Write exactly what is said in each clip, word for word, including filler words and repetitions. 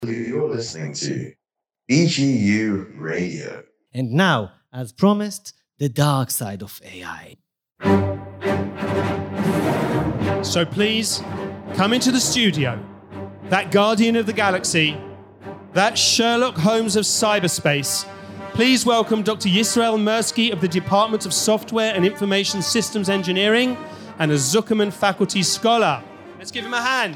You're listening to B G U Radio. And now, as promised, the dark side of A I. So please, come into the studio. That guardian of the galaxy, that Sherlock Holmes of cyberspace. Please welcome Doctor Yisrael Mirsky of the Department of Software and Information Systems Engineering and a Zuckerman Faculty Scholar. Let's give him a hand.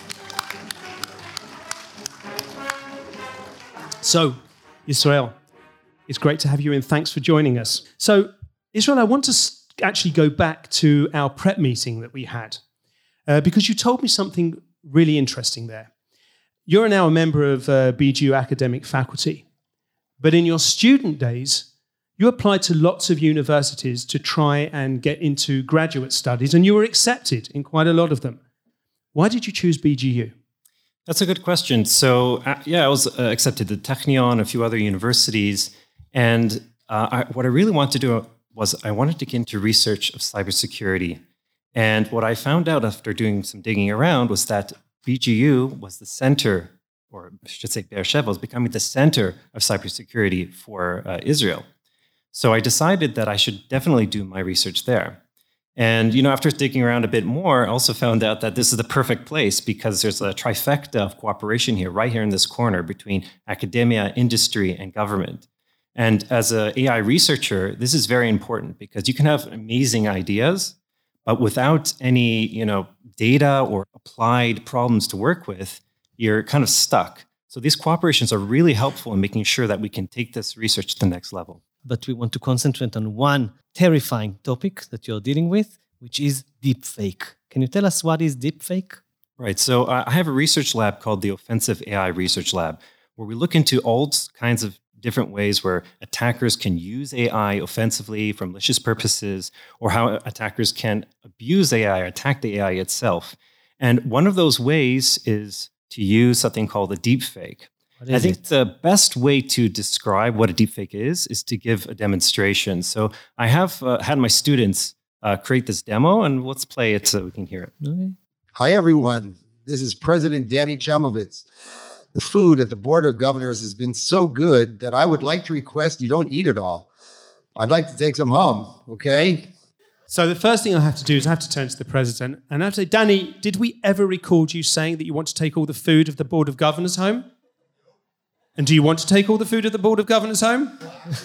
So, Yisrael, it's great to have you in. Thanks for joining us. So, Yisrael, I want to actually go back to our prep meeting that we had uh, because you told me something really interesting there. You're now a member of uh, B G U academic faculty, but in your student days, you applied to lots of universities to try and get into graduate studies, and you were accepted in quite a lot of them. Why did you choose B G U? That's a good question. So, uh, yeah, I was uh, accepted to Technion, a few other universities, and uh, I, what I really wanted to do was I wanted to get into research of cybersecurity. And what I found out after doing some digging around was that B G U was the center, or I should say Beersheba was becoming the center of cybersecurity for uh, Israel. So I decided that I should definitely do my research there. And, you know, after digging around a bit more, I also found out that this is the perfect place because there's a trifecta of cooperation here, right here in this corner between academia, industry, and government. And as an A I researcher, this is very important because you can have amazing ideas, but without any, you know, data or applied problems to work with, you're kind of stuck. So these cooperations are really helpful in making sure that we can take this research to the next level. But we want to concentrate on one terrifying topic that you're dealing with, which is deepfake. Can you tell us what is deepfake? Right. So uh, I have a research lab called the Offensive A I Research Lab, where we look into all kinds of different ways where attackers can use A I offensively for malicious purposes, or how attackers can abuse A I or attack the A I itself. And one of those ways is to use something called a deepfake. I think it? the best way to describe what a deepfake is, is to give a demonstration. So I have uh, had my students uh, create this demo, and let's play it so we can hear it. Okay. Hi, everyone. This is President Danny Chamovitz. The food at the Board of Governors has been so good that I would like to request you don't eat it all. I'd like to take some home, okay? So the first thing I have to do is I have to turn to the president and I have to say, Danny, did we ever record you saying that you want to take all the food of the Board of Governors home? And do you want to take all the food of the Board of Governors home?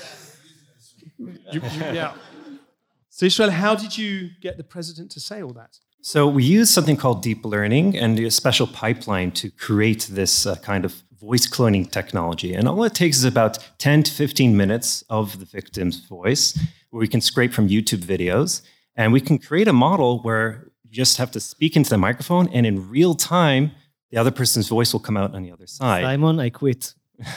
you, you, yeah. So Israel, how did you get the president to say all that? So we use something called deep learning and a special pipeline to create this uh, kind of voice cloning technology. And all it takes is about ten to fifteen minutes of the victim's voice, where we can scrape from YouTube videos. And we can create a model where you just have to speak into the microphone, and in real time, the other person's voice will come out on the other side. Simon, I quit.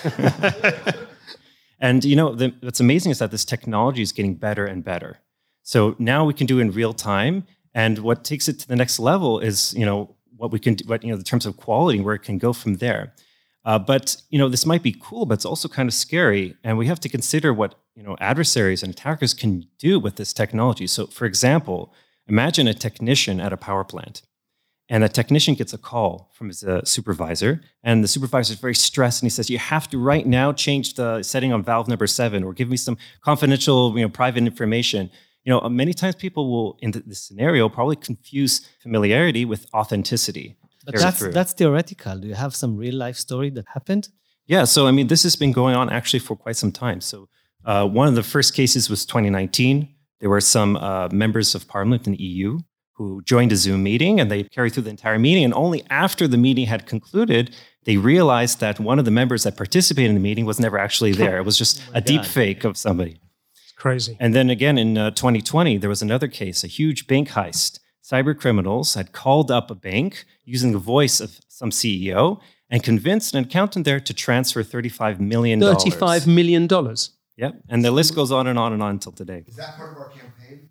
And, you know, the, what's amazing is that this technology is getting better and better. So now we can do it in real time. And what takes it to the next level is, you know, what we can do, what, you know, the terms of quality, where it can go from there. Uh, but, you know, this might be cool, but it's also kind of scary. And we have to consider what, you know, adversaries and attackers can do with this technology. So, for example, imagine a technician at a power plant. And the technician gets a call from his uh, supervisor, and the supervisor is very stressed, and he says, you have to right now change the setting on valve number seven, or give me some confidential, you know, private information. You know, many times people will, in this scenario, probably confuse familiarity with authenticity. But that's, that's theoretical. Do you have some real-life story that happened? Yeah, so, I mean, this has been going on actually for quite some time. So uh, one of the first cases was twenty nineteen. There were some uh, members of parliament in the E U who joined a Zoom meeting, and they carried through the entire meeting. And only after the meeting had concluded, they realized that one of the members that participated in the meeting was never actually there. It was just oh a deep fake of somebody. It's crazy. And then again, in uh, twenty twenty, there was another case, a huge bank heist. Cyber criminals had called up a bank using the voice of some C E O and convinced an accountant there to transfer thirty-five million dollars. thirty-five million dollars? Yep. And the list goes on and on and on until today. Is that part of our campaign?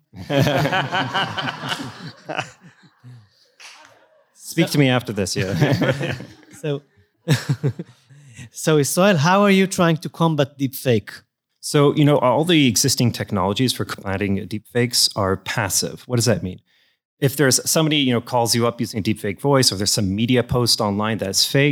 Speak to me after this, yeah. so, so Israel, how are you trying to combat deepfake? So, you know, all the existing technologies for combating deepfakes are passive. What does that mean? If there's somebody, you know, calls you up using a deepfake voice, or there's some media post online that's fake,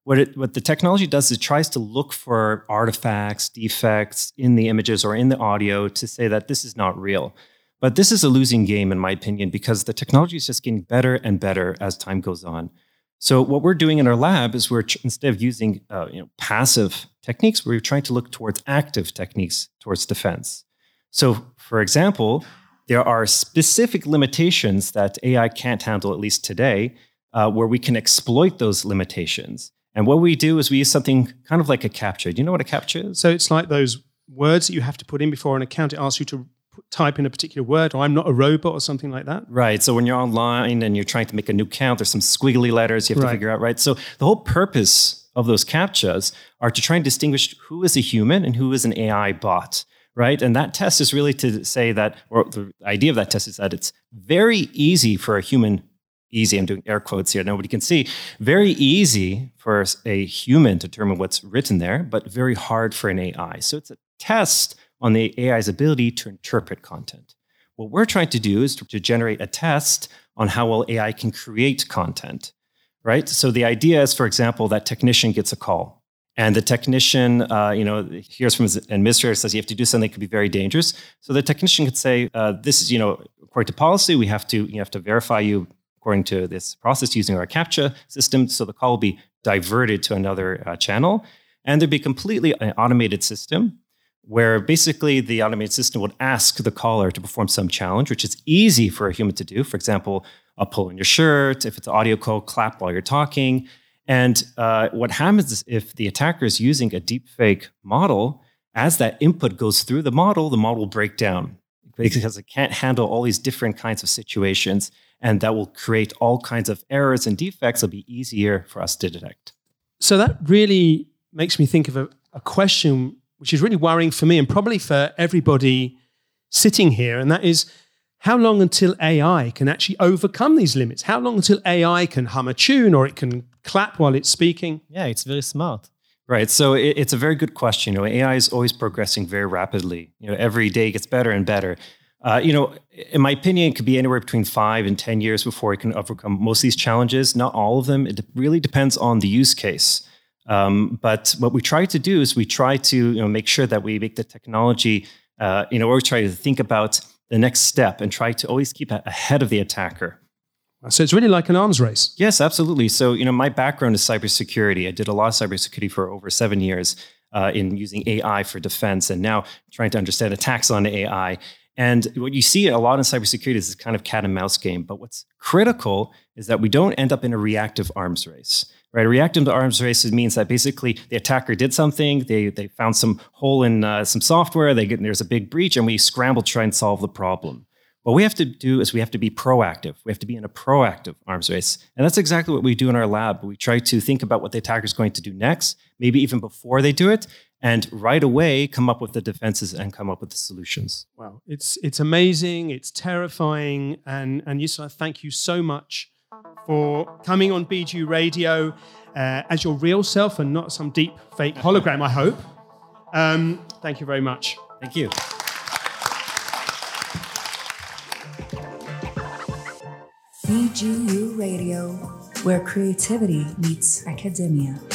what it, what the technology does is it tries to look for artifacts, defects in the images or in the audio to say that this is not real. But this is a losing game, in my opinion, because the technology is just getting better and better as time goes on. So what we're doing in our lab is we're, instead of using uh, you know, passive techniques, we're trying to look towards active techniques towards defense. So, for example, there are specific limitations that A I can't handle, at least today, uh, where we can exploit those limitations. And what we do is we use something kind of like a CAPTCHA. Do you know what a CAPTCHA is? So it's like those words that you have to put in before an account. It asks you to type in a particular word, or I'm not a robot, or something like that? Right. So when you're online and you're trying to make a new count, there's some squiggly letters you have to Right. figure out, right? So the whole purpose of those CAPTCHAs are to try and distinguish who is a human and who is an A I bot, right? And that test is really to say that, or the idea of that test is that it's very easy for a human, easy, I'm doing air quotes here, nobody can see, very easy for a human to determine what's written there, but very hard for an A I. So it's a test on the A I's ability to interpret content. What we're trying to do is to, to generate a test on how well A I can create content, right? So the idea is, for example, that technician gets a call, and the technician, uh, you know, hears from his administrator, says you have to do something that could be very dangerous. So the technician could say, uh, "This is, you know, according to policy, we have to, you have to verify you according to this process using our CAPTCHA system." So the call will be diverted to another uh, channel, and there'd be completely an automated system, where basically the automated system would ask the caller to perform some challenge, which is easy for a human to do. For example, a pull on your shirt. If it's an audio call, clap while you're talking. And uh, what happens is if the attacker is using a deepfake model, as that input goes through the model, the model will break down because it can't handle all these different kinds of situations. And that will create all kinds of errors and defects that'll be easier for us to detect. So that really makes me think of a, a question which is really worrying for me and probably for everybody sitting here, and that is, how long until A I can actually overcome these limits? How long until A I can hum a tune or it can clap while it's speaking? Yeah, it's very smart. Right. So it, it's a very good question. You know, A I is always progressing very rapidly. You know, every day it gets better and better. Uh, you know, in my opinion, it could be anywhere between five and ten years before it can overcome most of these challenges. Not all of them. It really depends on the use case. Um, but what we try to do is we try to, you know, make sure that we make the technology, uh, you know, or we try to think about the next step and try to always keep ahead of the attacker. So it's really like an arms race. Yes, absolutely. So, you know, my background is cybersecurity. I did a lot of cybersecurity for over seven years uh, in using A I for defense, and now trying to understand attacks on A I. And what you see a lot in cybersecurity is this kind of cat and mouse game. But what's critical is that we don't end up in a reactive arms race. Right, a reactive arms race means that basically the attacker did something, they they found some hole in uh, some software, they get, there's a big breach, and we scramble to try and solve the problem. What we have to do is we have to be proactive. We have to be in a proactive arms race. And that's exactly what we do in our lab. We try to think about what the attacker is going to do next, maybe even before they do it, and right away come up with the defenses and come up with the solutions. Wow, it's it's amazing, it's terrifying, and, and Yisrael, thank you so much for coming on B G U Radio uh, as your real self and not some deep fake hologram, I hope. Um, thank you very much. Thank you. B G U Radio, where creativity meets academia.